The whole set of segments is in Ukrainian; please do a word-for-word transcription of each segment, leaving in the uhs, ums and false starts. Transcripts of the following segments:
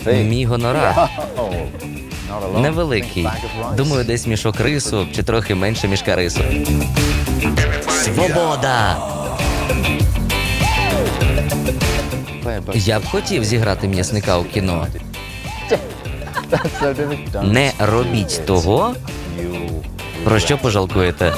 Мій гонорар невеликий. Думаю, десь мішок рису чи трохи менше мішка рису. Свобода! Я б хотів зіграти м'ясника у кіно. Не робіть того, про що пожалкуєте.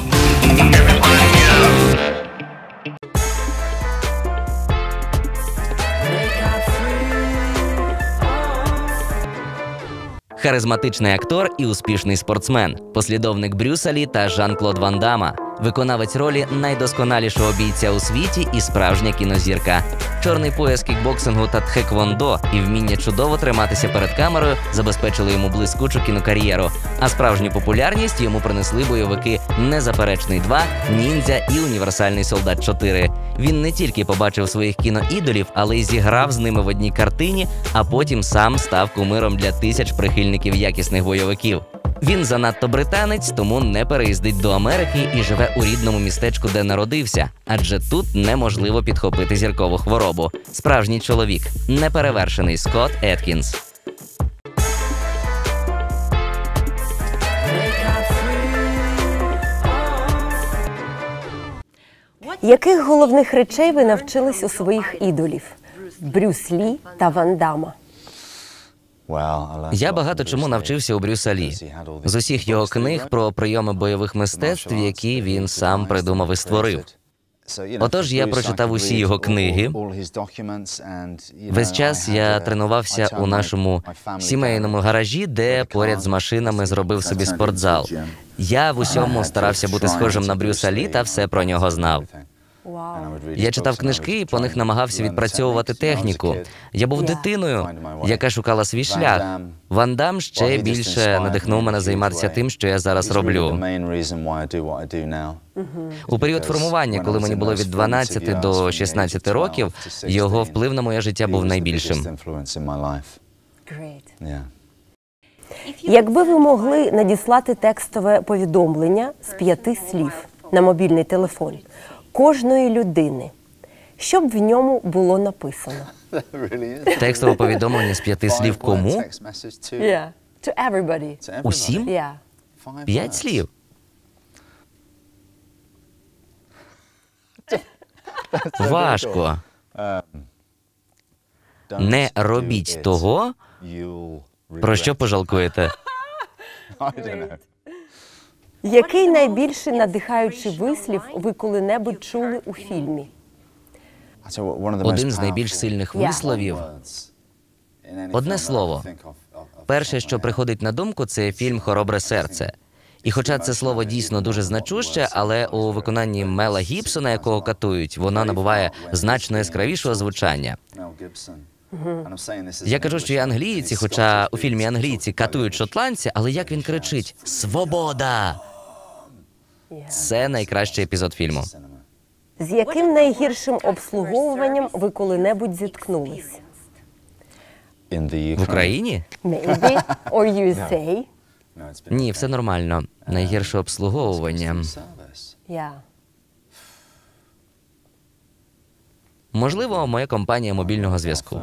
Харизматичний актор і успішний спортсмен, послідовник Брюса Лі та Жан-Клод Ван Дамма, виконавець ролі найдосконалішого бійця у світі і справжня кінозірка. Чорний пояс кікбоксингу та тхеквондо і вміння чудово триматися перед камерою забезпечили йому блискучу кінокар'єру, а справжню популярність йому принесли бойовики «Незаперечний два», «Ніндзя» і «Універсальний солдат чотири». Він не тільки побачив своїх кіноідолів, але й зіграв з ними в одній картині, а потім сам став кумиром для тисяч прихильників якісних бойовиків. Він занадто британець, тому не переїздить до Америки і живе у рідному містечку, де народився, адже тут неможливо підхопити зіркову хворобу. Справжній чоловік, неперевершений Скотт Еткінс. Яких головних речей ви навчились у своїх ідолів? Брюс Лі та Ван Дамма. Я багато чому навчився у Брюса Лі. З усіх його книг про прийоми бойових мистецтв, які він сам придумав і створив. Отож, я прочитав усі його книги. Весь час я тренувався у нашому сімейному гаражі, де поряд з машинами зробив собі спортзал. Я в усьому старався бути схожим на Брюса Лі та все про нього знав. Я читав книжки і по них намагався відпрацьовувати техніку. Я був дитиною, яка шукала свій шлях. Ван Дамм ще більше надихнув мене займатися тим, що я зараз роблю. У період формування, коли мені було від дванадцяти до шістнадцяти років, його вплив на моє життя був найбільшим. Якби ви могли надіслати текстове повідомлення з п'яти слів на мобільний телефон кожної людини, що б в ньому було написано? Текстове повідомлення з п'яти слів кому? Yeah. To everybody. Усім? Yeah. П'ять слів? Важко. Не робіть того, про що пожалкуєте. Який найбільший надихаючий вислів ви коли-небудь чули у фільмі? Один з найбільш сильних висловів – одне слово. Перше, що приходить на думку, це фільм «Хоробре серце». І хоча це слово дійсно дуже значуще, але у виконанні Мела Гібсона, якого катують, воно набуває значно яскравішого звучання. Я кажу, що я англієць, і хоча у фільмі англійці катують шотландця, але як він кричить «Свобода!» Це найкращий епізод фільму. З яким найгіршим обслуговуванням ви коли-небудь зіткнулись? В Україні? Maybe. Or ю ес ей? Ні, все нормально. Найгірше обслуговування. Yeah. Можливо, моя компанія мобільного зв'язку.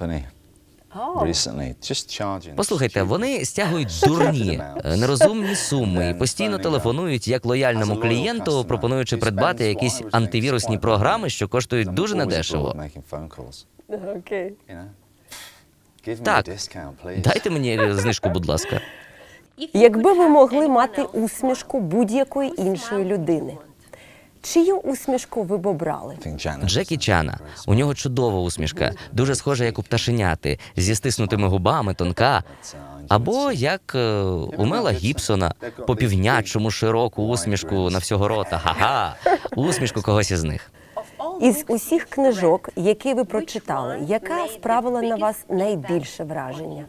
Послухайте, вони стягують дурні, нерозумні суми і постійно телефонують як лояльному клієнту, пропонуючи придбати якісь антивірусні програми, що коштують дуже недешево. Okay. Так, дайте мені знижку, будь ласка. Якби ви могли мати усмішку будь-якої іншої людини, чию усмішку ви б обрали? Джекі Чана. У нього чудова усмішка, дуже схожа, як у пташеняти, зі стиснутими губами, тонка. Або як е, у Мела Гібсона, по півнячому широку усмішку на всього рота. Ха-ха! Усмішку когось із них. Із усіх книжок, які ви прочитали, яка справила на вас найбільше враження?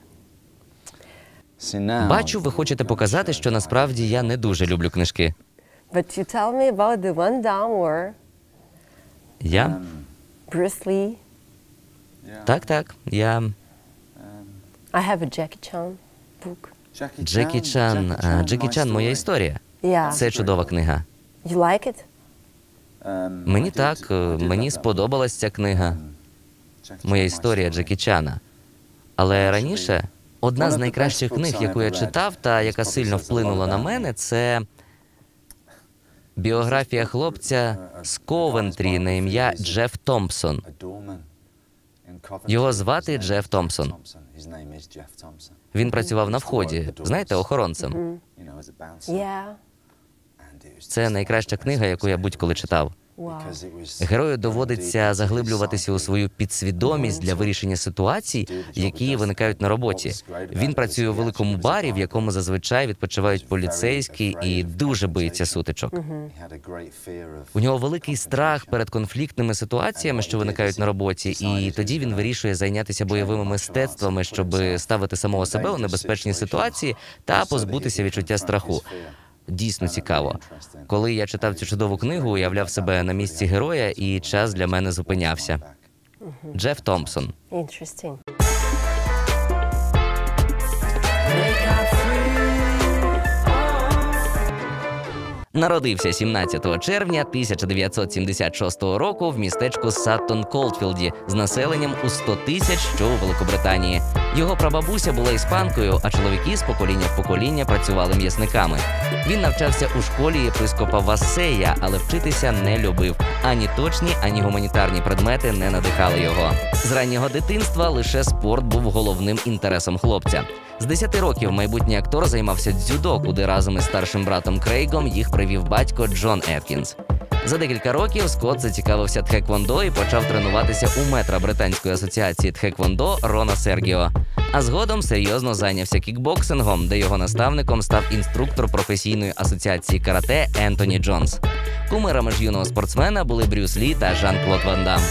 Бачу, ви хочете показати, що насправді я не дуже люблю книжки. But you tell me about the Van Damme or Я? Bruce Lee. Так, так, я... I have a Jackie Chan book. Джекі Чан. А, Джекі Чан – моя історія. Yeah. Це чудова книга. You like it? Мені так, е, мені сподобалась ця книга. Моя історія Джекі Чана. Але раніше одна з найкращих книг, яку я читав та яка сильно вплинула на мене, це біографія хлопця з Ковентрі на ім'я Джеф Томпсон. Його звати Джеф Томпсон. Він працював на вході, знаєте, охоронцем. Yeah. Це найкраща книга, яку я будь-коли читав. Wow. Герою доводиться заглиблюватися у свою підсвідомість для вирішення ситуацій, які виникають на роботі. Він працює у великому барі, в якому зазвичай відпочивають поліцейські, і дуже боїться сутичок. У нього великий страх перед конфліктними ситуаціями, що виникають на роботі, і тоді він вирішує зайнятися бойовими мистецтвами, щоб ставити самого себе у небезпечні ситуації та позбутися відчуття страху. Дійсно цікаво. Коли я читав цю чудову книгу, уявляв себе на місці героя, і час для мене зупинявся. Джеф Томпсон. Interesting. Народився сімнадцятого червня тисяча дев'ятсот сімдесят шостого року в містечку Саттон-Колдфілді з населенням у сто тисяч, що у Великобританії. Його прабабуся була іспанкою, а чоловіки з покоління в покоління працювали м'ясниками. Він навчався у школі єпископа Вассея, але вчитися не любив. Ані точні, ані гуманітарні предмети не надихали його. З раннього дитинства лише спорт був головним інтересом хлопця. З десяти років майбутній актор займався дзюдо, куди разом із старшим братом Крейгом їх привів батько Джон Еткінс. За декілька років Скотт зацікавився тхеквондо і почав тренуватися у метра Британської асоціації тхеквондо Рона Сергіо. А згодом серйозно зайнявся кікбоксингом, де його наставником став інструктор професійної асоціації карате Ентоні Джонс. Кумирами ж юного спортсмена були Брюс Лі та Жан-Клод Ван Дам.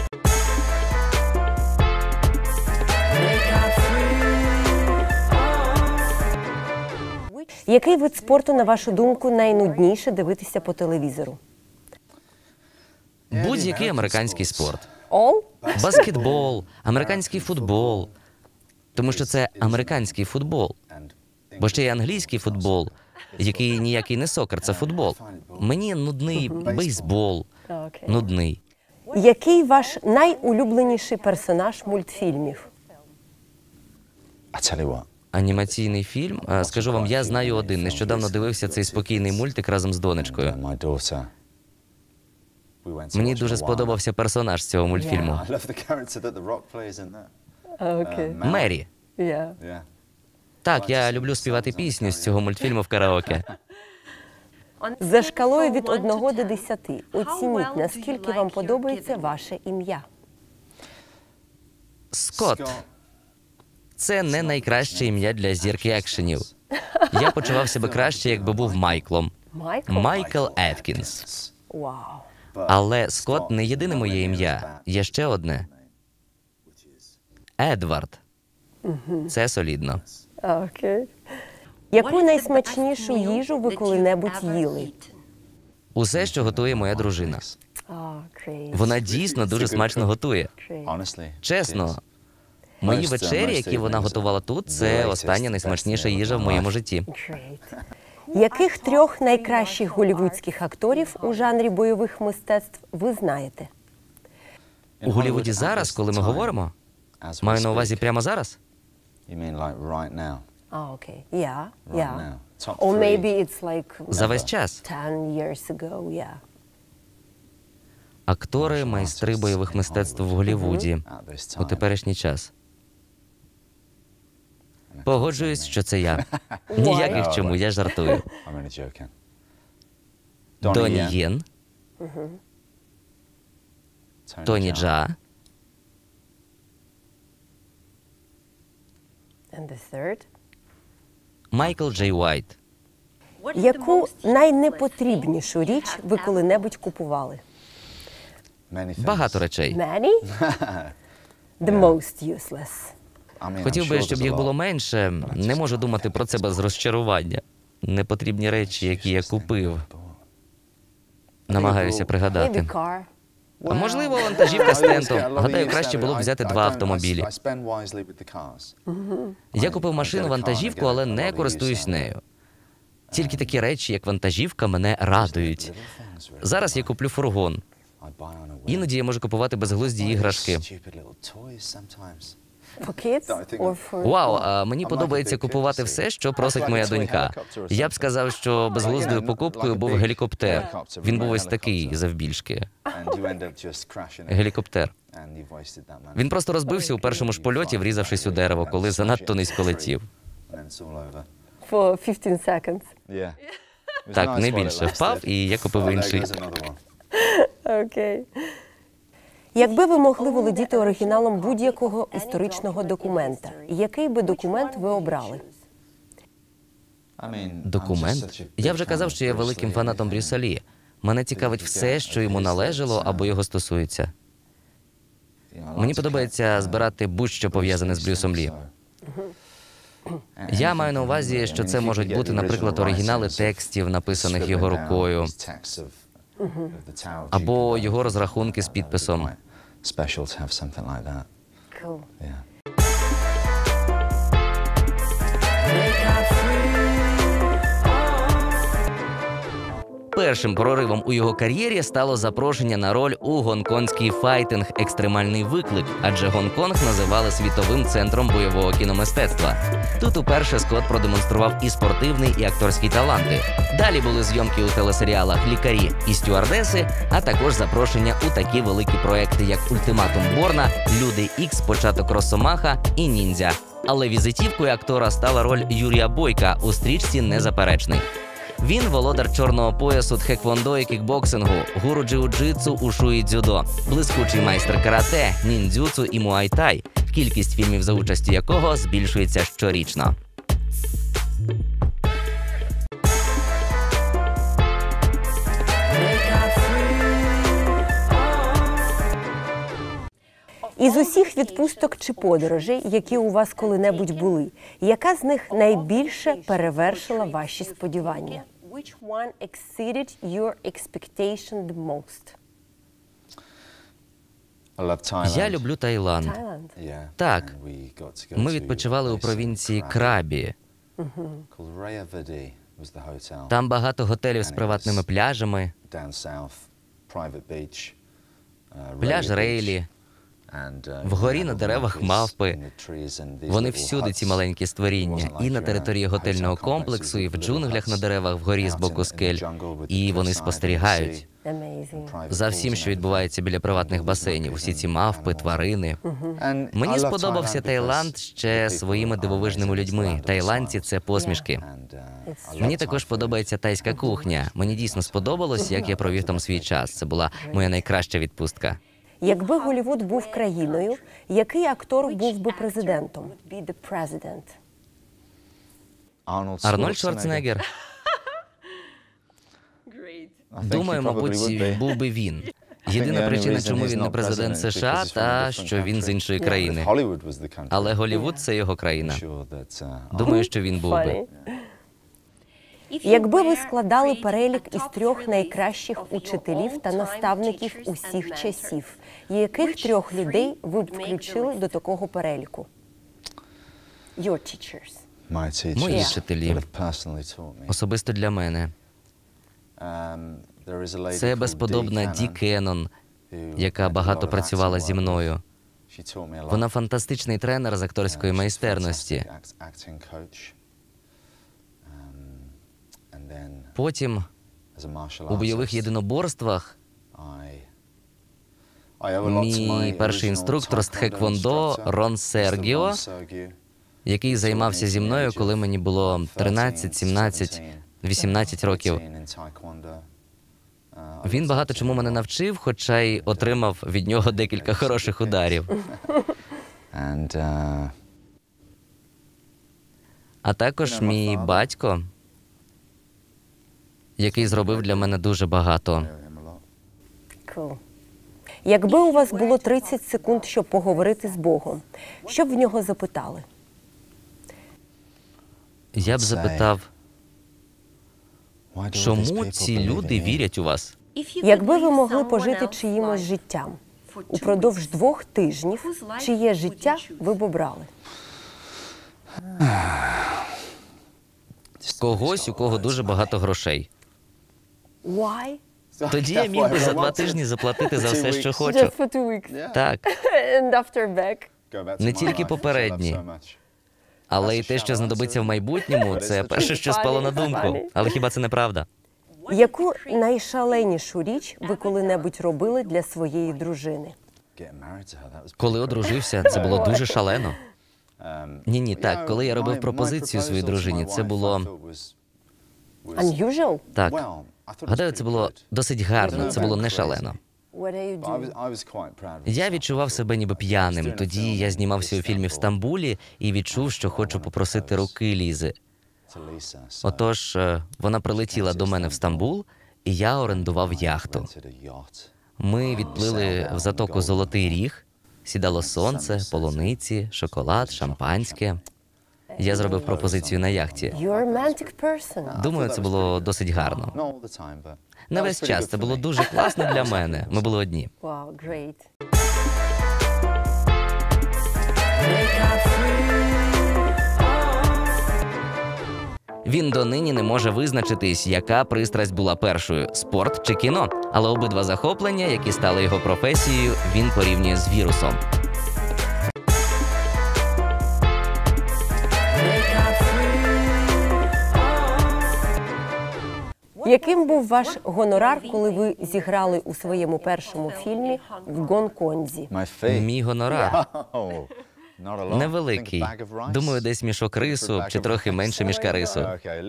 Який вид спорту, на вашу думку, найнудніше дивитися по телевізору? Будь-який американський спорт. All? Баскетбол, американський футбол. Тому що це американський футбол. Бо ще є англійський футбол, який ніякий не сокер, це футбол. Мені нудний бейсбол. Okay. Нудний. Який ваш найулюбленіший персонаж мультфільмів? Анімаційний фільм? А, скажу вам, я знаю один. Нещодавно дивився цей спокійний мультик разом з донечкою. Мені дуже сподобався персонаж цього мультфільму. Окей. Мері. Yeah. Так, я люблю співати пісню з цього мультфільму в караоке. За шкалою від одного до десяти оцініть, наскільки вам подобається ваше ім'я. Скотт. Це не найкраще ім'я для зірки екшенів. Я почував себе краще, якби був Майклом. Майкл? Майкл Еткінс. Вау. Але Скотт не єдине моє ім'я. Є ще одне. Едвард. Це солідно. Окей. Яку найсмачнішу їжу ви коли-небудь їли? Усе, що готує моя дружина. Окей. Вона дійсно дуже смачно готує. Чесно, мої вечері, які вона готувала тут, це остання найсмачніша їжа в моєму житті. Great. Яких трьох найкращих голлівудських акторів у жанрі бойових мистецтв ви знаєте? У Голлівуді зараз, коли ми говоримо, маю на увазі прямо зараз? А, окей. Yeah, yeah. Or maybe it's like За весь час. ten years ago, yeah. Актори, майстри бойових мистецтв в Голлівуді у теперішній час. Погоджуюсь, що це я. Ніяких чому, я жартую. Доні Єн, Тоні Джа, And the third? Майкл Джей Уайт. Яку найнепотрібнішу річ ви коли-небудь купували? Багато речей. Many? The most useless. Хотів би, щоб їх було менше. Не можу думати про це без розчарування. Непотрібні речі, які я купив. Намагаюся пригадати. Maybe car. А можливо, вантажівка з тентом. Гадаю, краще було б взяти два автомобілі. Я купив машину-вантажівку, але не користуюсь нею. Тільки такі речі, як вантажівка, мене радують. Зараз я куплю фургон. Іноді я можу купувати безглузді іграшки. For kids or for... Вау, а мені подобається купувати все, що просить моя донька. Я б сказав, що безглуздою покупкою був гелікоптер. Він був ось такий, завбільшки. Гелікоптер. Він просто розбився у першому ж польоті, врізавшись у дерево, коли занадто низько летів. For fifteen seconds. Так, не більше. Впав, і я купив інший. Окей. Якби ви могли володіти оригіналом будь-якого історичного документа, який би документ ви обрали? Документ? Я вже казав, що я великим фанатом Брюса Лі. Мене цікавить все, що йому належало або його стосується. Мені подобається збирати будь-що пов'язане з Брюсом Лі. Я маю на увазі, що це можуть бути, наприклад, оригінали текстів, написаних його рукою, або його розрахунки з підписом. Cool. Першим проривом у його кар'єрі стало запрошення на роль у гонконгський файтинг «Екстремальний виклик», адже Гонконг називали світовим центром бойового кіномистецтва. Тут уперше Скотт продемонстрував і спортивний, і акторський таланти. Далі були зйомки у телесеріалах «Лікарі» і «Стюардеси», а також запрошення у такі великі проекти, як «Ультиматум Борна», «Люди Ікс», «Початок Росомаха» і «Ніндзя». Але візитівкою актора стала роль Юрія Бойка у стрічці «Незаперечний». Він володар чорного поясу тхеквондо і кікбоксингу, гуру джиу-джитсу, ушу і дзюдо, блискучий майстер карате, ніндзюцу і муай-тай, кількість фільмів за участю якого збільшується щорічно. Із усіх відпусток чи подорожей, які у вас коли-небудь були, яка з них найбільше перевершила ваші сподівання? Which one exceeded your expectation the most? Я люблю Таїланд. Таїланд. Так, ми відпочивали у провінції Крабі. Там багато готелів з приватними пляжами, пляж Рейлі. Вгорі на деревах мавпи. Вони всюди, ці маленькі створіння. І на території готельного комплексу, і в джунглях на деревах вгорі з боку скель. І вони спостерігають Amazing. за всім, що відбувається біля приватних басейнів. Усі ці мавпи, тварини. Мені сподобався Таїланд ще своїми дивовижними людьми. Таїландці – це посмішки. Мені також подобається тайська кухня. Мені дійсно сподобалось, як я провів там свій час. Це була моя найкраща відпустка. Якби Голлівуд був країною, який актор був би президентом? Be the president. Арнольд Шварценеггер. Думаю, мабуть, був би він. Єдина причина, чому він не президент США, та що він з іншої країни. Але Голлівуд – це його країна. Думаю, що він був би. Якби ви складали перелік із трьох найкращих учителів та наставників усіх часів, яких трьох людей ви б включили до такого переліку? Your teachers. Мої вчителі. Особисто для мене. Це безподобна Ді Кеннон, яка багато працювала зі мною. Вона фантастичний тренер з акторської майстерності. Потім у бойових єдиноборствах мій перший інструктор з тхеквондо Рон Сергіо, який займався зі мною, коли мені було тринадцять, сімнадцять, вісімнадцять років. Він багато чому мене навчив, хоча й отримав від нього декілька хороших ударів. А також мій батько, який зробив для мене дуже багато. Cool. Якби у вас було тридцять секунд, щоб поговорити з Богом, що б в нього запитали? Я б запитав, чому ці люди вірять у вас? Якби ви могли пожити чиїмось життям упродовж двох тижнів, чиє життя ви б обрали? Когось, у кого дуже багато грошей. Why? Тоді я міг би за два тижні заплатити за все, що хочу. Just for two weeks. Так. And after back. Не тільки попередні, але й те, що знадобиться в майбутньому, це перше, що спало на думку. Але хіба це не правда? Яку найшаленішу річ ви коли-небудь робили для своєї дружини? Коли одружився, це було дуже шалено. Ні-ні, так, коли я робив пропозицію своїй дружині, це було... Unusual? Так. Гадаю, це було досить гарно, це було не шалено. What are you doing? Я відчував себе ніби п'яним. Тоді я знімався у фільмі в Стамбулі і відчув, що хочу попросити руки Лізи. Отож, е, вона прилетіла до мене в Стамбул, і я орендував яхту. Ми відплили в затоку Золотий Ріг, сідало сонце, полуниці, шоколад, шампанське. Я зробив пропозицію на яхті. You're a romantic person. Думаю, це було досить гарно. Не весь час, це було дуже класно для мене. Ми були одні. Wow, great. Він донині не може визначитись, яка пристрасть була першою – спорт чи кіно. Але обидва захоплення, які стали його професією, він порівнює з вірусом. Яким був ваш гонорар, коли ви зіграли у своєму першому фільмі в Гонконзі? Мій гонорар невеликий. Думаю, десь мішок рису чи трохи менше мішка рису.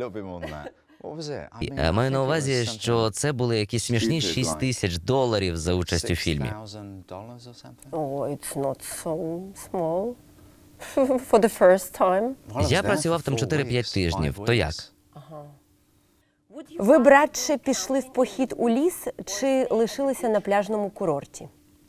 Я маю на увазі, що це були якісь смішні шість тисяч доларів за участь у фільмі. Oh, it's not so small. For the first time. Я працював там чотири-п'ять тижнів. То як? Ви б радше пішли в похід у ліс чи лишилися на пляжному курорті?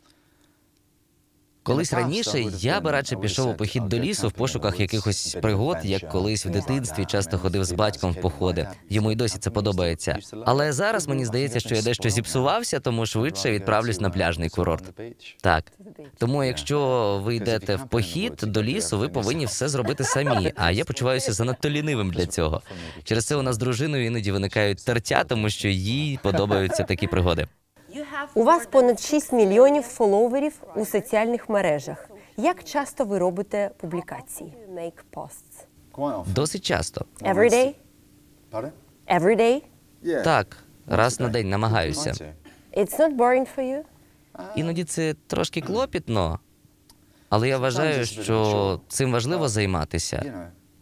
Колись раніше я би радше пішов у похід до лісу в пошуках якихось пригод, як колись в дитинстві часто ходив з батьком в походи. Йому й досі це подобається. Але зараз мені здається, що я дещо зіпсувався, тому швидше відправлюсь на пляжний курорт. Так. Тому якщо ви йдете в похід до лісу, ви повинні все зробити самі, а я почуваюся занадто лінивим для цього. Через це у нас з дружиною іноді виникають тертя, тому що їй подобаються такі пригоди. У вас понад шість мільйонів фоловерів у соціальних мережах. Як часто ви робите публікації? Make posts. Досить часто. Every day? Every day? Так, раз на день намагаюся. It's not boring for you? Іноді це трошки клопітно, але я вважаю, що цим важливо займатися.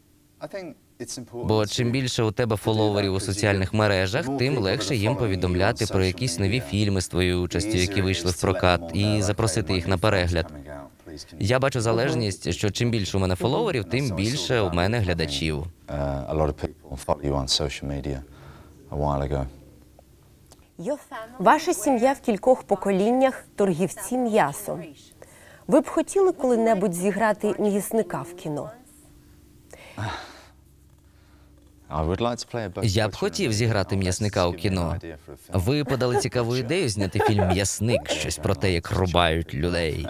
Бо чим більше у тебе фоловерів у соціальних мережах, тим легше їм повідомляти про якісь нові фільми з твоєю участю, які вийшли в прокат, і запросити їх на перегляд. Я бачу залежність, що чим більше у мене фоловерів, тим більше у мене глядачів. Ваша сім'я в кількох поколіннях торгівці м'ясом. Ви б хотіли коли-небудь зіграти м'ясника в кіно? Я б хотів зіграти м'ясника у кіно. Ви подали цікаву ідею зняти фільм «М'ясник», щось про те, як рубають людей.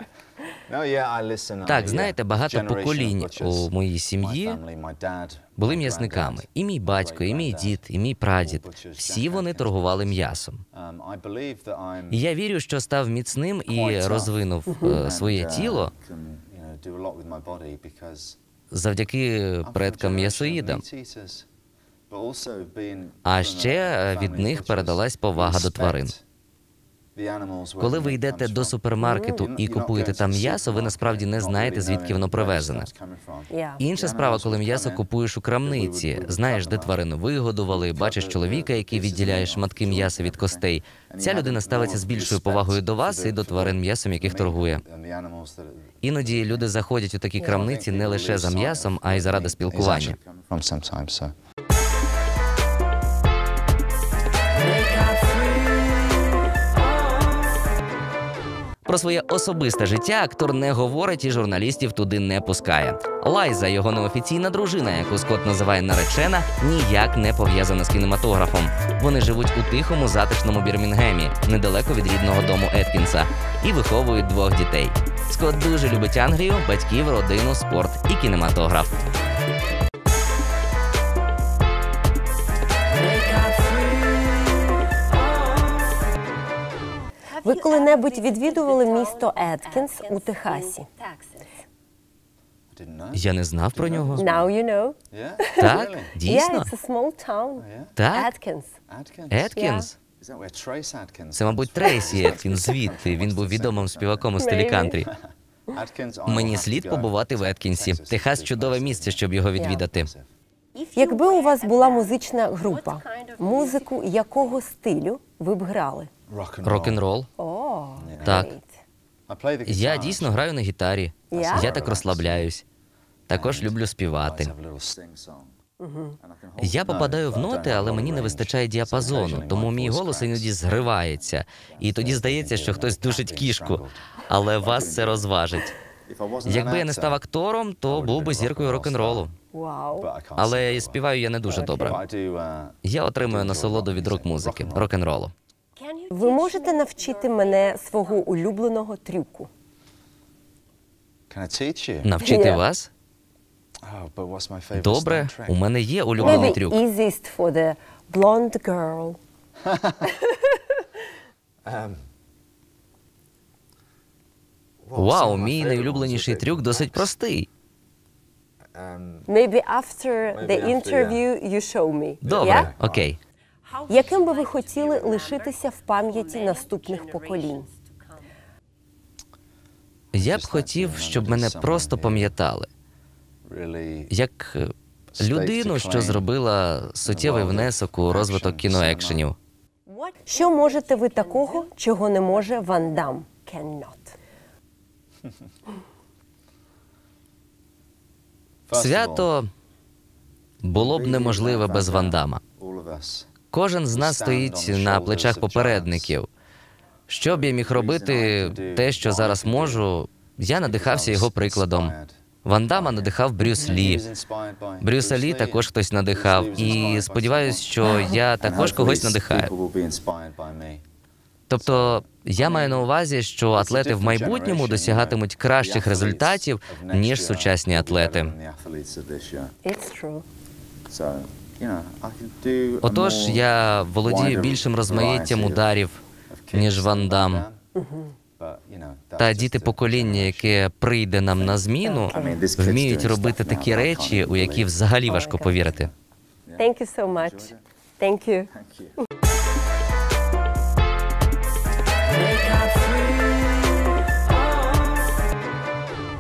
Так, знаєте, багато поколінь у моїй сім'ї були м'ясниками. І мій батько, і мій дід, і мій прадід. Всі вони торгували м'ясом. І я вірю, що став міцним і розвинув е, своє тіло завдяки предкам-м'ясоїдам. А ще від них передалась повага до тварин. Коли ви йдете до супермаркету і купуєте там м'ясо, ви насправді не знаєте, звідки воно привезене. Інша справа, коли м'ясо купуєш у крамниці, знаєш, де тварину вигодували, бачиш чоловіка, який відділяє шматки м'яса від костей. Ця людина ставиться з більшою повагою до вас і до тварин, м'ясом яких торгує. Іноді люди заходять у такі крамниці не лише за м'ясом, а й заради спілкування. Про своє особисте життя актор не говорить і журналістів туди не пускає. Лайза, його неофіційна дружина, яку Скотт називає наречена, ніяк не пов'язана з кінематографом. Вони живуть у тихому, затишному Бірмінгемі, недалеко від рідного дому Еткінса, і виховують двох дітей. Скотт дуже любить Англію, батьків, родину, спорт і кінематограф. Ви коли-небудь відвідували місто Еткінс у Техасі? Я не знав про нього. Now you know. Так, Yeah, дійсно. it's a small town. Так, Atkins. Еткінс. Це, мабуть, Трейсі Еткінс звідти. Він був відомим співаком у стилі Maybe. кантрі. Мені слід побувати в Еткінсі. Техас – чудове місце, щоб його відвідати. Якби у вас була музична група, музику якого стилю ви б грали? Рок-н-рол. О, Так. great. Я дійсно граю на гітарі. Я? Я так розслабляюсь. Також люблю співати. Я попадаю в ноти, але мені не вистачає діапазону, тому мій голос іноді зривається. І тоді здається, що хтось душить кішку. Але вас це розважить. Якби я не став актором, то був би зіркою рок-н-ролу. Вау. Але і співаю я не дуже добре. Я отримую насолоду від рок-музики, рок-н-ролу. Ви можете навчити мене свого улюбленого трюку? Навчити Yeah. вас? Добре, у мене є улюблений Maybe трюк. easiest for the blonde girl. Вау, мій найулюбленіший трюк досить простий. Maybe after the interview you show me. Добре, Yeah? окей. Яким би ви хотіли лишитися в пам'яті наступних поколінь? Я б хотів, щоб мене просто пам'ятали. Як е, людину, що зробила суттєвий внесок у розвиток кіноекшенів. Що можете ви такого, чого не може Ван Дам? Cannot. Свято було б неможливе без Ван Дамма. Кожен з нас стоїть на плечах попередників. Що б я міг робити, те, що зараз можу, я надихався його прикладом. Ван Дамма надихав Брюс Лі. Брюса Лі також хтось надихав. І сподіваюся, що я також когось надихаю. Тобто, я маю на увазі, що атлети в майбутньому досягатимуть кращих результатів, ніж сучасні атлети. It's true. Отож, я володію більшим розмаїттям ударів, ніж Ван Дам. Та діти покоління, яке прийде нам на зміну, вміють робити такі речі, у які взагалі важко повірити. Thank you so much. Thank you.